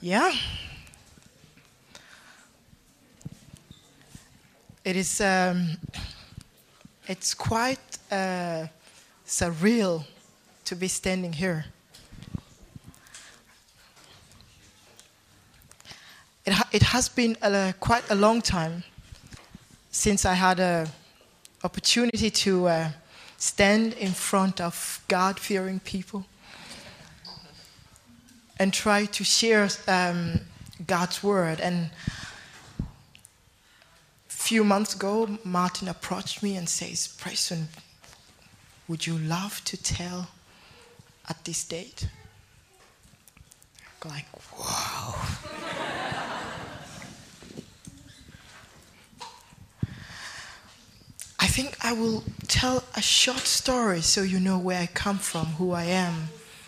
Yeah. It is, it's quite surreal to be standing here. It has been quite a long time since I had an opportunity to stand in front of God-fearing people and try to share God's word. And a few months ago, Martin approached me and says, "Preston, would you love to tell at this date?" I'm like, wow. I think I will tell a short story so you know where I come from, who I am,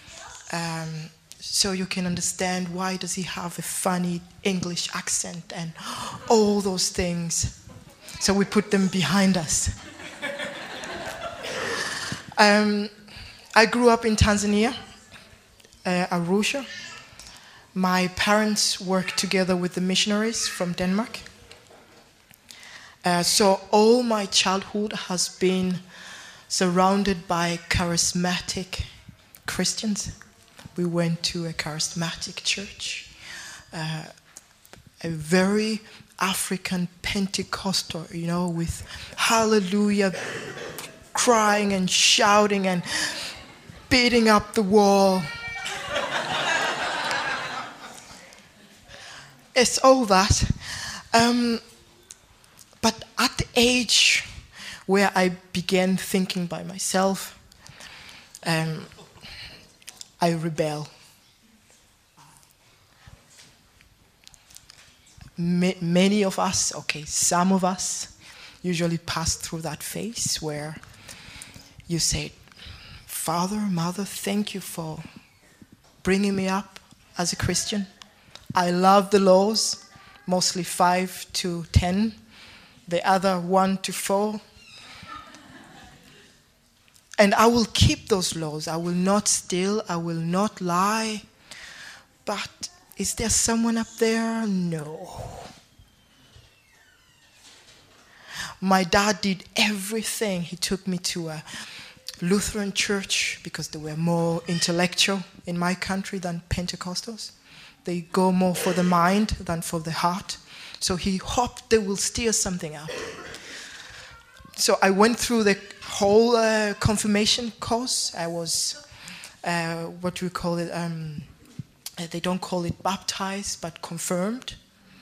so you can understand why does he have a funny English accent and all those things. So we put them behind us. I grew up in Tanzania, Arusha. My parents worked together with the missionaries from Denmark. So all my childhood has been surrounded by charismatic Christians. We went to a charismatic church, a very African Pentecostal, with hallelujah, crying and shouting and beating up the wall. It's all that. But at the age where I began thinking by myself, I rebel. Many of us, some of us, usually pass through that phase where you say, "Father, Mother, thank you for bringing me up as a Christian. I love the laws, mostly 5 to 10. The other 1 to 4. And I will keep those laws. I will not steal. I will not lie. But is there someone up there? No." My dad did everything. He took me to a Lutheran church because they were more intellectual in my country than Pentecostals. They go more for the mind than for the heart. So he hoped they will steer something out. So I went through the whole confirmation course. I was, what do we call it? They don't call it baptized, but confirmed.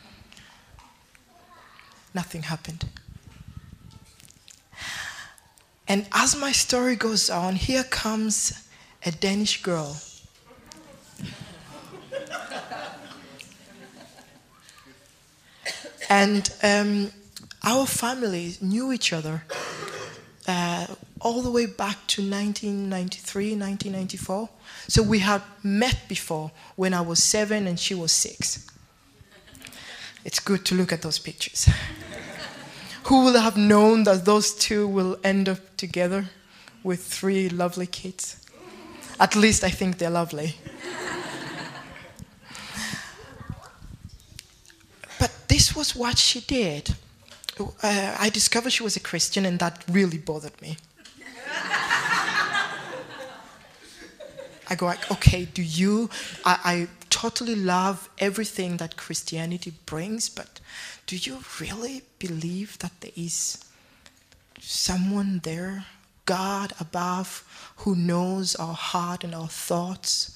Nothing happened. And as my story goes on, here comes a Danish girl. And our families knew each other all the way back to 1993, 1994. So we had met before when I was 7 and she was 6. It's good to look at those pictures. Who would have known that those two will end up together with 3 lovely kids? At least I think they're lovely. This was what she did. I discovered she was a Christian, and that really bothered me. I go like, okay, I totally love everything that Christianity brings, but do you really believe that there is someone there, God above, who knows our heart and our thoughts?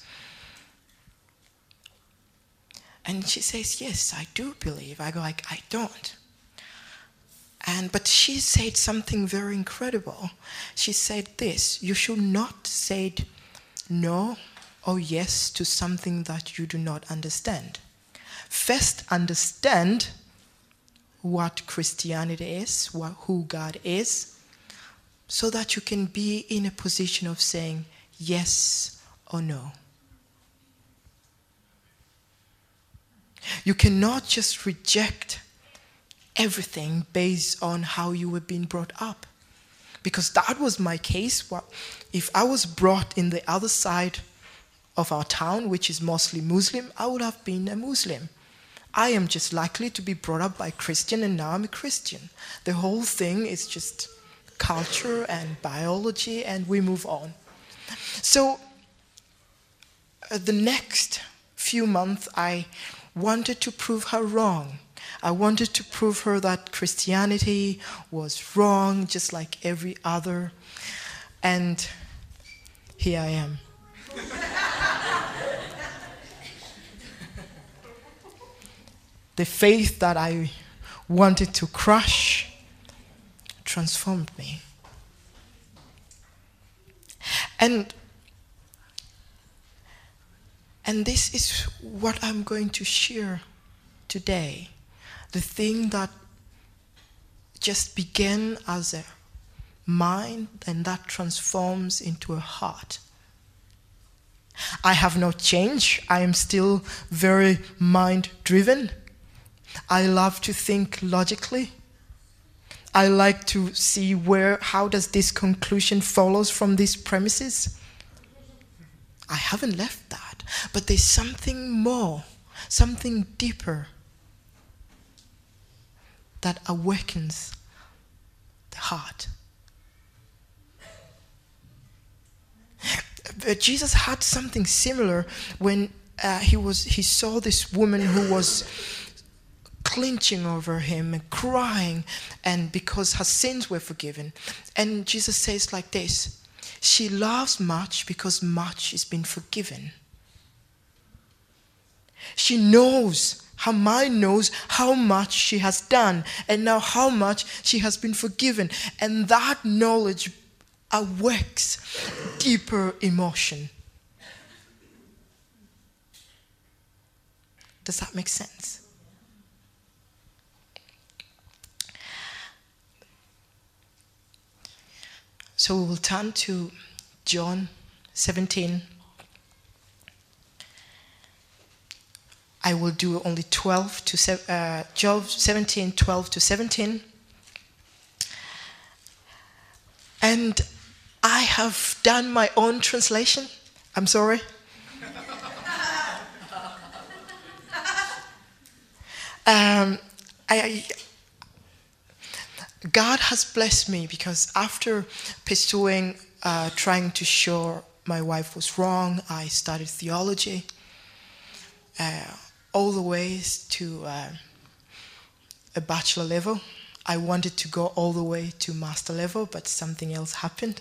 And she says, "Yes, I do believe." I go like, "I don't." But she said something very incredible. She said this: "You should not say no or yes to something that you do not understand. First understand what Christianity is, who God is, so that you can be in a position of saying yes or no. You cannot just reject everything based on how you were being brought up." Because that was my case. If I was brought in the other side of our town, which is mostly Muslim, I would have been a Muslim. I am just likely to be brought up by Christian, and now I'm a Christian. The whole thing is just culture and biology, and we move on. So the next few months, I wanted to prove her wrong. I wanted to prove her that Christianity was wrong, just like every other. And here I am. The faith that I wanted to crush transformed me. And this is what I'm going to share today. The thing that just began as a mind and that transforms into a heart. I have not changed. I am still very mind-driven. I love to think logically. I like to see how does this conclusion follows from these premises. I haven't left that, but there's something more, something deeper that awakens the heart. Jesus had something similar when he saw this woman who was clenching over him and crying, and because her sins were forgiven. And Jesus says like this: she loves much because much has been forgiven. She knows, her mind knows how much she has done, and now how much she has been forgiven. And that knowledge awakes deeper emotion. Does that make sense? So we will turn to John 17. I will do only 17, 12 to 17. And I have done my own translation. I'm sorry. God has blessed me because after pursuing, trying to show my wife was wrong, I studied theology all the way to a bachelor level. I wanted to go all the way to master level, but something else happened.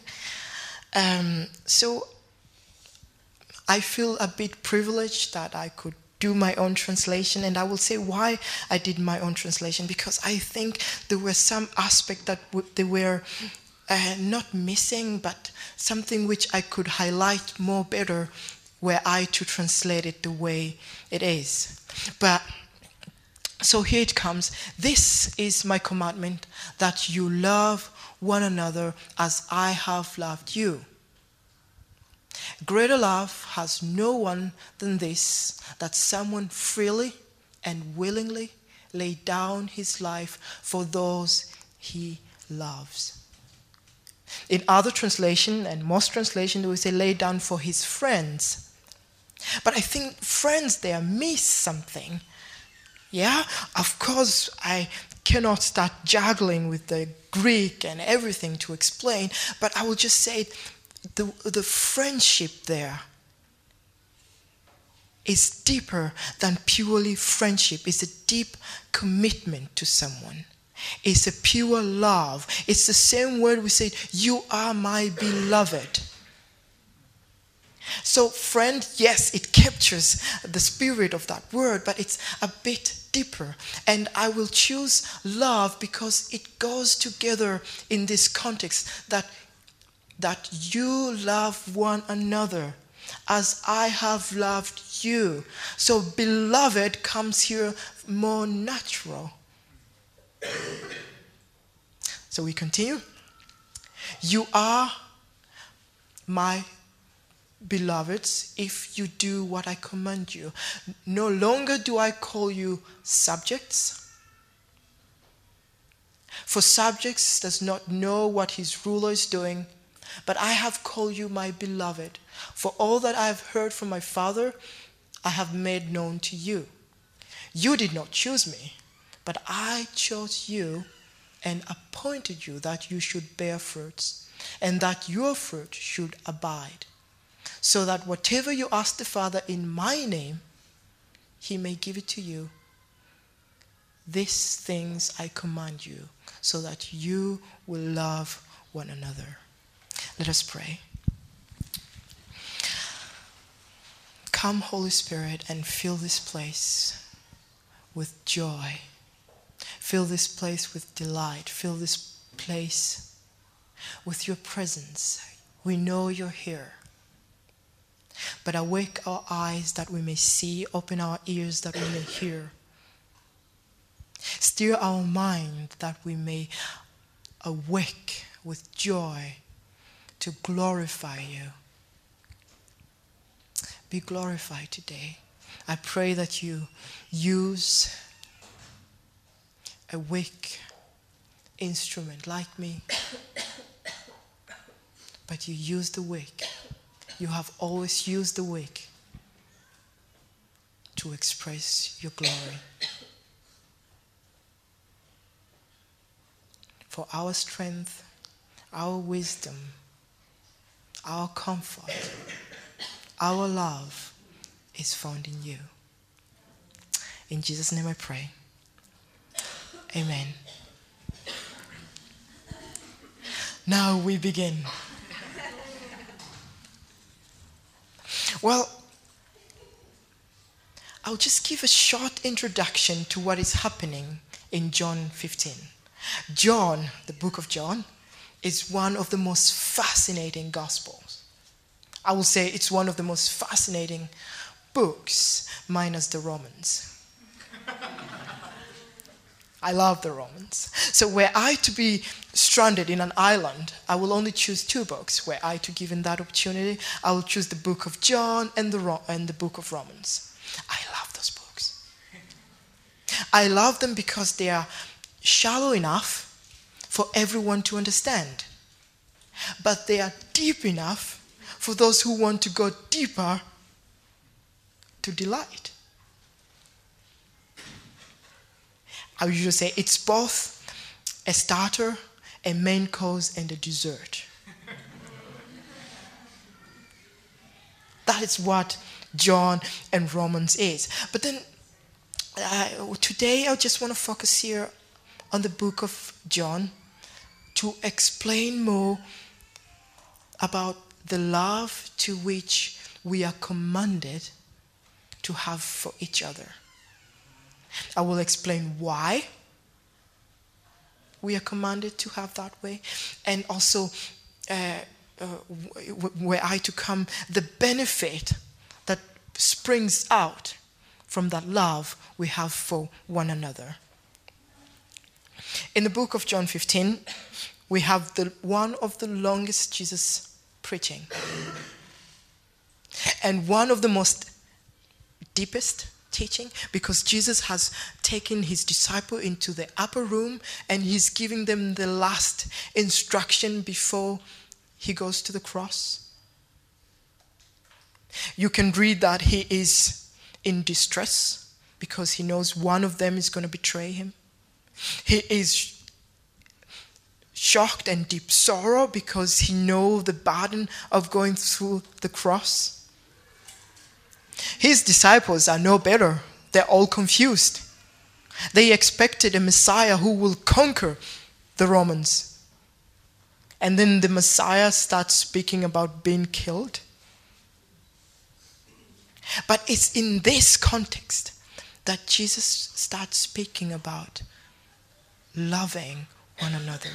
So I feel a bit privileged that I could do my own translation, and I will say why I did my own translation, because I think there were some aspects that they were not missing, but something which I could highlight more better were I to translate it the way it is. But so here it comes. This is my commandment, that you love one another as I have loved you. Greater love has no one than this, that someone freely and willingly lay down his life for those he loves. In other translation, and most translation, they will say lay down for his friends. But I think friends there miss something. Yeah, of course, I cannot start juggling with the Greek and everything to explain, but I will just say the friendship there is deeper than purely friendship. It's a deep commitment to someone. It's a pure love. It's the same word we say, you are my beloved. So friend, yes, it captures the spirit of that word, but it's a bit deeper. And I will choose love because it goes together in this context that you love one another as I have loved you. So beloved comes here more natural. So we continue. You are my beloveds if you do what I command you. No longer do I call you subjects, for subjects does not know what his ruler is doing, But I have called you my beloved, for all that I have heard from my Father, I have made known to you. You did not choose me, but I chose you and appointed you that you should bear fruits, and that your fruit should abide, so that whatever you ask the Father in my name, he may give it to you. These things I command you, so that you will love one another. Let us pray. Come, Holy Spirit, and fill this place with joy. Fill this place with delight. Fill this place with your presence. We know you're here. But awake our eyes that we may see, open our ears that we may hear. Steer our mind that we may awake with joy to glorify you. Be glorified today. I pray that you use a weak instrument like me, but you use the weak. You have always used the weak to express your glory. For our strength, our wisdom, our comfort, our love is found in you. In Jesus' name I pray. Amen. Now we begin. Well, I'll just give a short introduction to what is happening in John 15. John, the book of John, is one of the most fascinating Gospels. I will say it's one of the most fascinating books, minus the Romans. I love the Romans. So were I to be stranded in an island, I will only choose two books. Were I to given that opportunity, I will choose the book of John and the book of Romans. I love those books. I love them because they are shallow enough for everyone to understand. But they are deep enough for those who want to go deeper to delight. I usually say it's both a starter, a main course, and a dessert. That is what John and Romans is. But then today I just want to focus here on the book of John to explain more about the love to which we are commanded to have for each other. I will explain why we are commanded to have that way, and also were I to come, the benefit that springs out from that love we have for one another. In the book of John 15, we have one of the longest Jesus preaching, and one of the most deepest teaching, because Jesus has taken his disciple into the upper room and he's giving them the last instruction before he goes to the cross. You can read that he is in distress because he knows one of them is going to betray him. He is shocked and deep sorrow because he knows the burden of going through the cross. His disciples are no better. They're all confused. They expected a Messiah who will conquer the Romans. And then the Messiah starts speaking about being killed. But it's in this context that Jesus starts speaking about loving one another.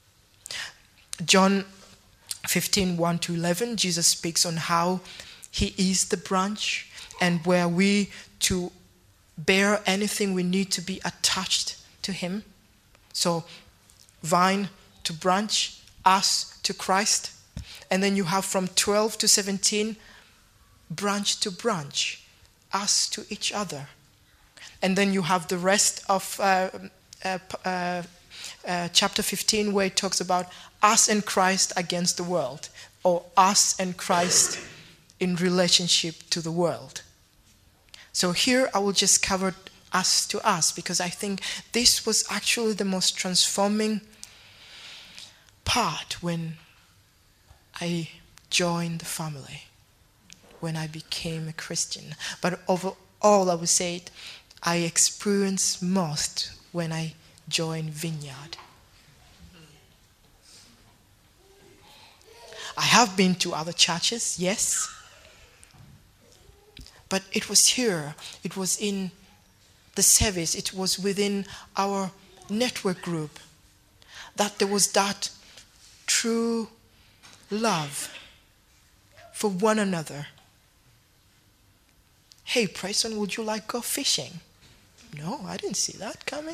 John 15, 1-11, Jesus speaks on how he is the branch, and were we to bear anything, we need to be attached to him. So, vine to branch, us to Christ. And then you have from 12 to 17, branch to branch, us to each other. And then you have the rest of chapter 15, where it talks about us and Christ against the world, or us and Christ in relationship to the world. So here I will just cover us to us, because I think this was actually the most transforming part when I joined the family, when I became a Christian. But overall, I would say I experienced most when I joined Vineyard. I have been to other churches, yes. But it was here, it was in the service, it was within our network group that there was that true love for one another. Hey, Preston, would you like to go fishing? No, I didn't see that coming.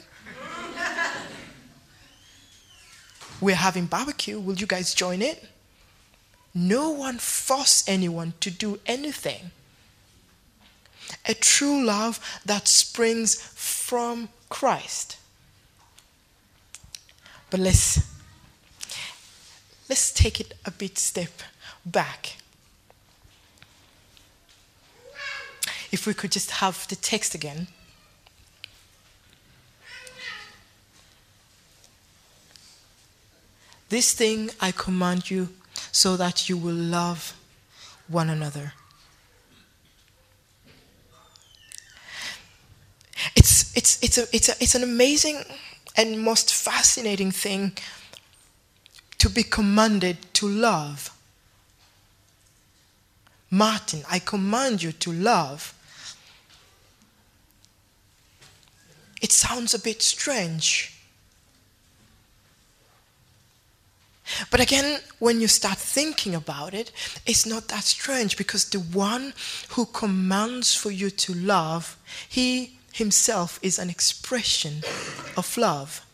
We're having barbecue. Will you guys join it? No one forced anyone to do anything. A true love that springs from Christ. But let's take it a bit step back. If we could just have the text again. This thing I command you, so that you will love one another. It's an amazing and most fascinating thing to be commanded to love. Martin, I command you to love. It sounds a bit strange. But again, when you start thinking about it, it's not that strange, because the one who commands for you to love, he himself is an expression of love.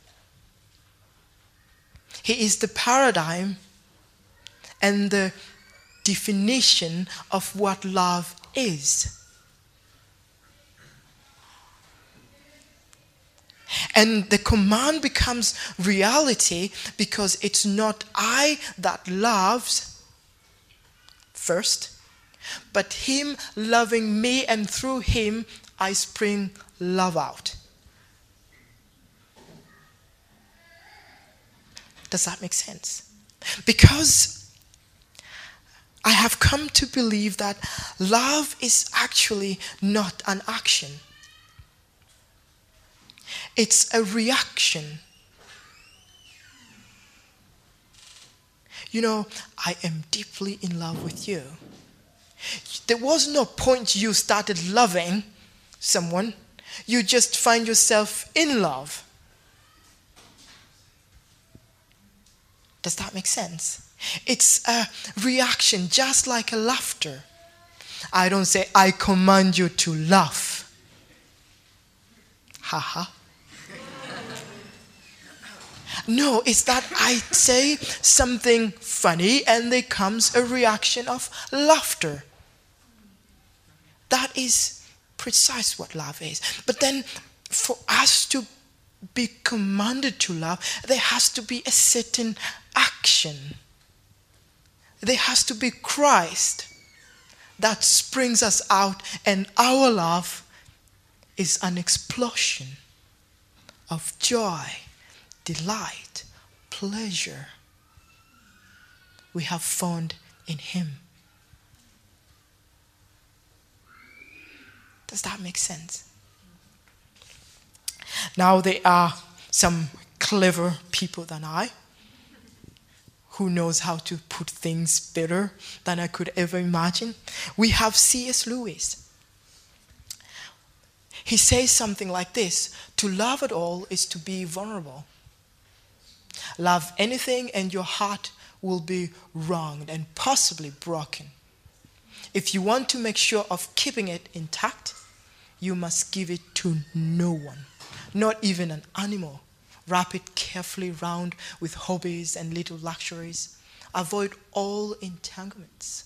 He is the paradigm and the definition of what love is. And the command becomes reality because it's not I that loves first, but him loving me, and through him I spring love out. Does that make sense? Because I have come to believe that love is actually not an action. It's a reaction. You know, I am deeply in love with you. There was no point you started loving someone. You just find yourself in love. Does that make sense? It's a reaction, just like a laughter. I don't say, I command you to laugh. Haha. No, it's that I say something funny and there comes a reaction of laughter. That is precise what love is. But then for us to be commanded to love, there has to be a certain action. There has to be Christ that springs us out, and our love is an explosion of joy, delight, pleasure we have found in him. Does that make sense? Now there are some clever people than I who knows how to put things better than I could ever imagine. We have C.S. Lewis. He says something like this: to love at all is to be vulnerable. Love anything and your heart will be wronged and possibly broken. If you want to make sure of keeping it intact, you must give it to no one, not even an animal. Wrap it carefully round with hobbies and little luxuries. Avoid all entanglements.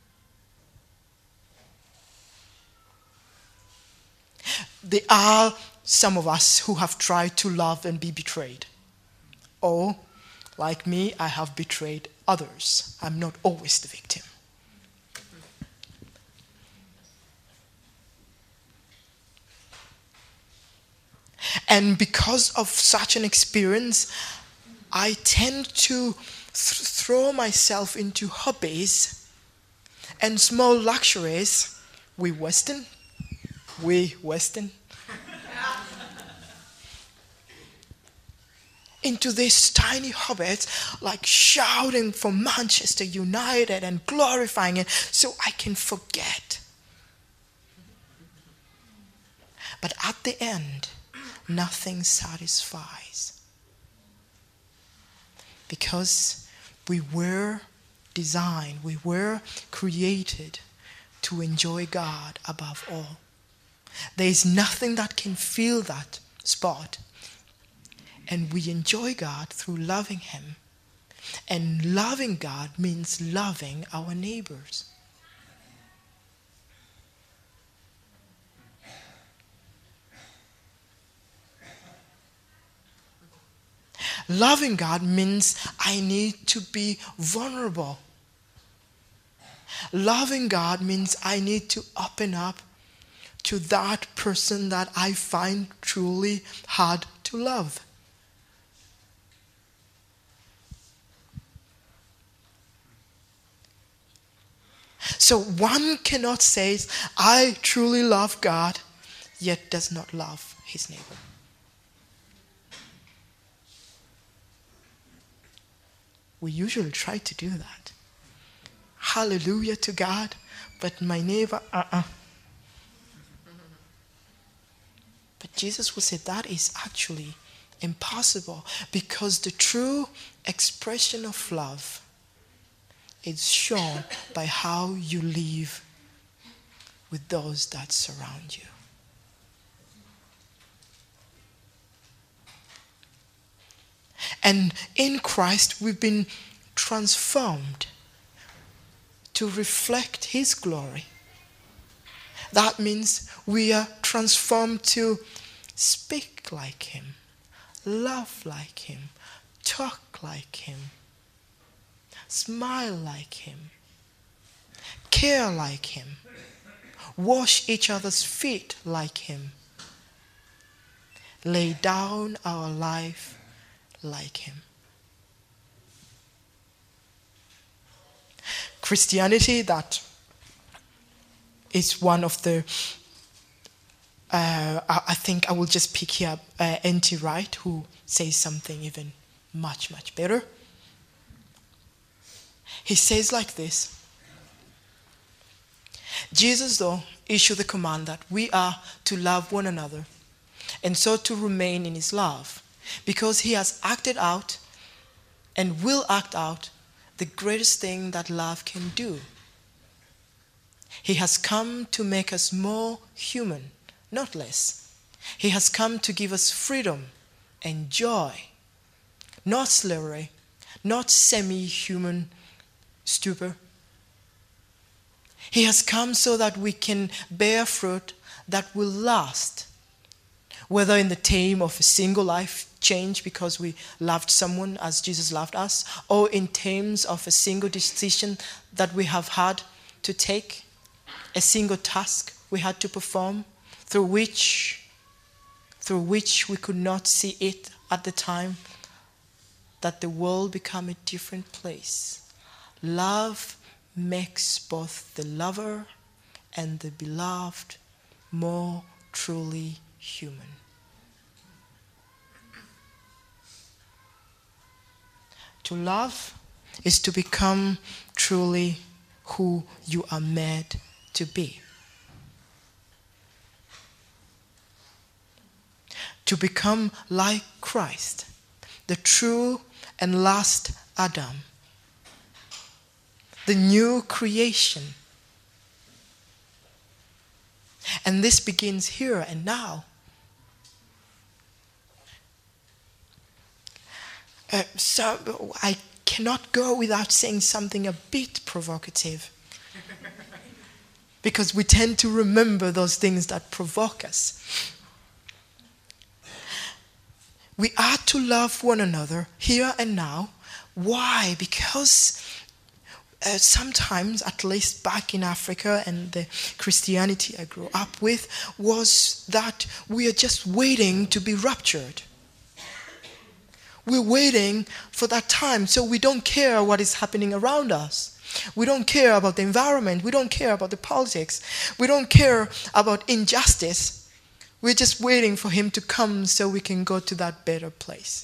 There are some of us who have tried to love and be betrayed. Or, like me, I have betrayed others. I'm not always the victim. And because of such an experience, I tend to throw myself into hobbies and small luxuries. We Western. Into these tiny hobbits, like shouting for Manchester United and glorifying it so I can forget. But at the end, nothing satisfies. Because we were designed, we were created to enjoy God above all. There is nothing that can fill that spot. And we enjoy God through loving Him. And loving God means loving our neighbors. Loving God means I need to be vulnerable. Loving God means I need to open up to that person that I find truly hard to love. So one cannot say, I truly love God, yet does not love his neighbor. We usually try to do that. Hallelujah to God, but my neighbor, But Jesus would say that is actually impossible, because the true expression of love is shown by how you live with those that surround you. And in Christ, we've been transformed to reflect His glory. That means we are transformed to speak like Him, love like Him, talk like Him, smile like Him, care like Him, wash each other's feet like Him, lay down our life like Him. Christianity, that is one of the, I think I will just pick here N.T. Wright, who says something even much, much better. He says like this: Jesus, though, issued the command that we are to love one another, and so to remain in His love, because He has acted out and will act out the greatest thing that love can do. He has come to make us more human, not less. He has come to give us freedom and joy, not slavery, not semi-human stupor. He has come so that we can bear fruit that will last, whether in the term of a single life change because we loved someone as Jesus loved us, or in terms of a single decision that we have had to take, a single task we had to perform, through which we could not see it at the time, that the world become a different place. Love makes both the lover and the beloved more truly human. To love is to become truly who you are made to be. To become like Christ, the true and last Adam, the new creation. And this begins here and now. So I cannot go without saying something a bit provocative, because we tend to remember those things that provoke us. We are to love one another here and now. Why? Because sometimes, at least back in Africa and the Christianity I grew up with, was that we are just waiting to be raptured. We're waiting for that time, so we don't care what is happening around us. We don't care about the environment. We don't care about the politics. We don't care about injustice. We're just waiting for him to come so we can go to that better place.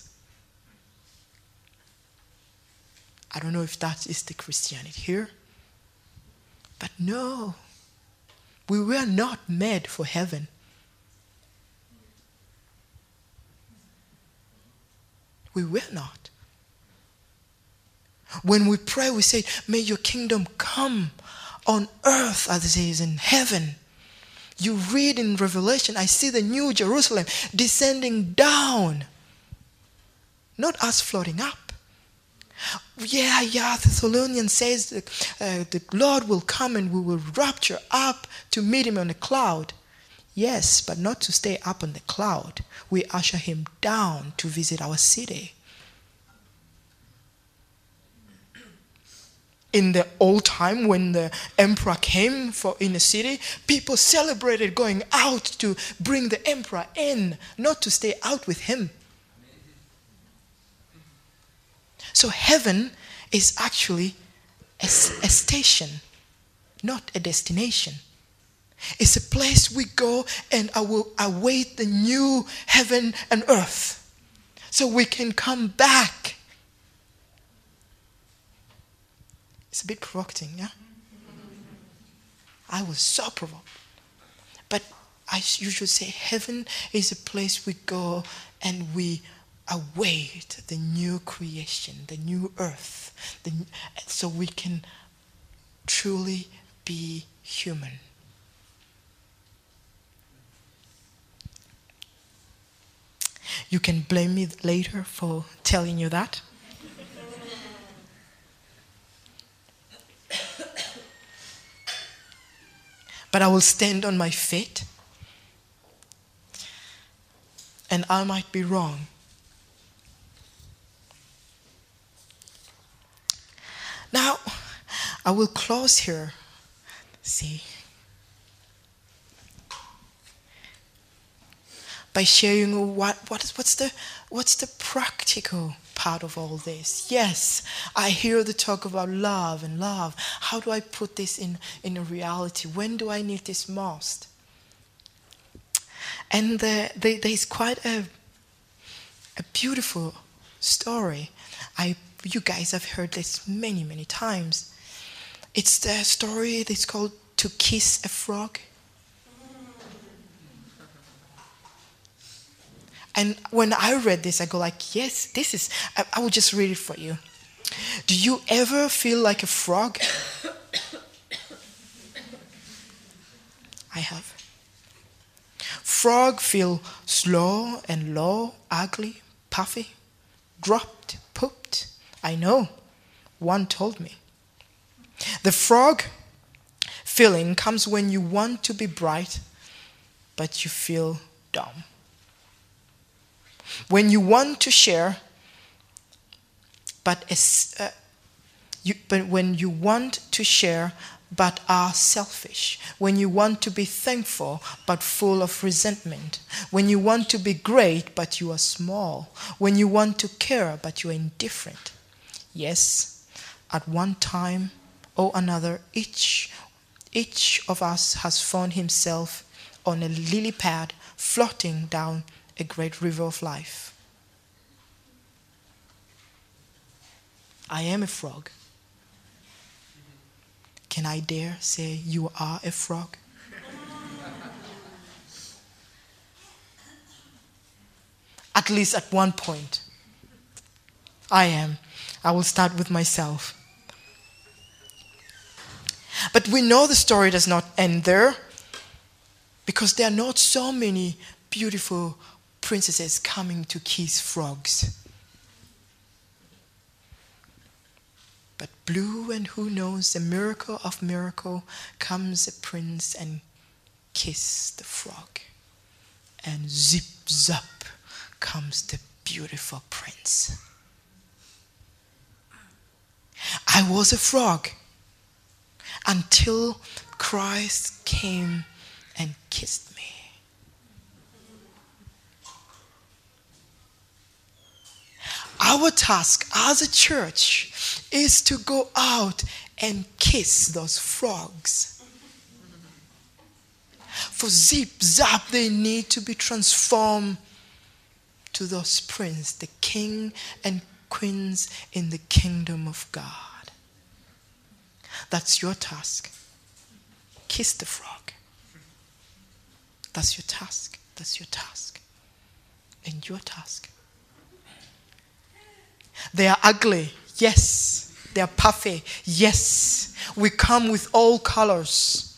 I don't know if that is the Christianity here. But no, we were not made for heaven. We were not. When we pray, we say, may your kingdom come on earth as it is in heaven. You read in Revelation, I see the new Jerusalem descending down, not us floating up. Yeah, Thessalonians says that the Lord will come and we will rapture up to meet him on a cloud. Yes, but not to stay up on the cloud. We usher him down to visit our city. In the old time, when the emperor came in a city, people celebrated going out to bring the emperor in, not to stay out with him. So heaven is actually a station, not a destination. It's a place we go and await the new heaven and earth, so we can come back. It's a bit provocative, yeah? I was so provoked. But you should say heaven is a place we go and we await the new creation, the new earth, so we can truly be human. You can blame me later for telling you that. But I will stand on my feet, and I might be wrong. Now, I will close here. See, by sharing what's the practical part of all this. Yes, I hear the talk about love and love. How do I put this in a reality? When do I need this most? And there's quite a beautiful story. You guys have heard this many, many times. It's the story that's called To Kiss a Frog. And when I read this, I go like, yes, this is, I will just read it for you. Do you ever feel like a frog? I have. Frog feel slow and low, ugly, puffy, dropped, pooped. I know. One told me. The frog feeling comes when you want to be bright, but you feel dumb. When you want to share, but when you want to share, but are selfish. When you want to be thankful, but full of resentment. When you want to be great, but you are small. When you want to care, but you are indifferent. Yes, at one time or another, each of us has found himself on a lily pad floating down a great river of life. I am a frog. Can I dare say you are a frog? At least at one point. I am. I will start with myself. But we know the story does not end there, because there are not so many beautiful princesses coming to kiss frogs. But blue, and who knows, a miracle of miracle, comes a prince and kiss the frog. And zip zap comes the beautiful prince. I was a frog until Christ came and kissed me. Our task as a church is to go out and kiss those frogs. For zip, zap, they need to be transformed to those princes, the king and queens in the kingdom of God. That's your task. Kiss the frog. That's your task. That's your task. And your task. They are ugly. Yes. They are puffy. Yes. We come with all colors.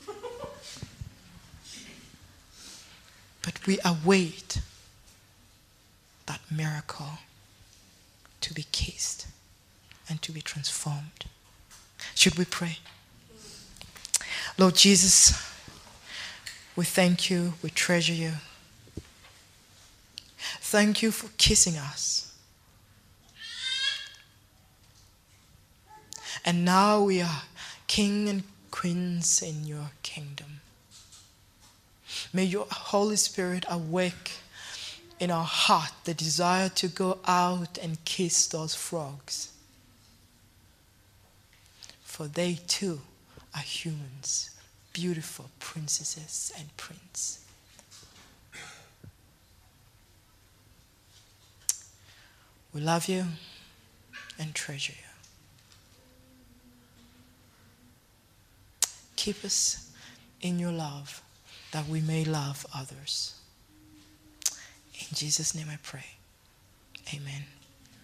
But we await that miracle to be kissed and to be transformed. Should we pray? Lord Jesus, we thank you, we treasure you. Thank you for kissing us. And now we are king and queens in your kingdom. May your Holy Spirit awake in our heart the desire to go out and kiss those frogs. For they too are humans, beautiful princesses and princes. We love you and treasure you. Keep us in your love that we may love others. In Jesus' name I pray. Amen.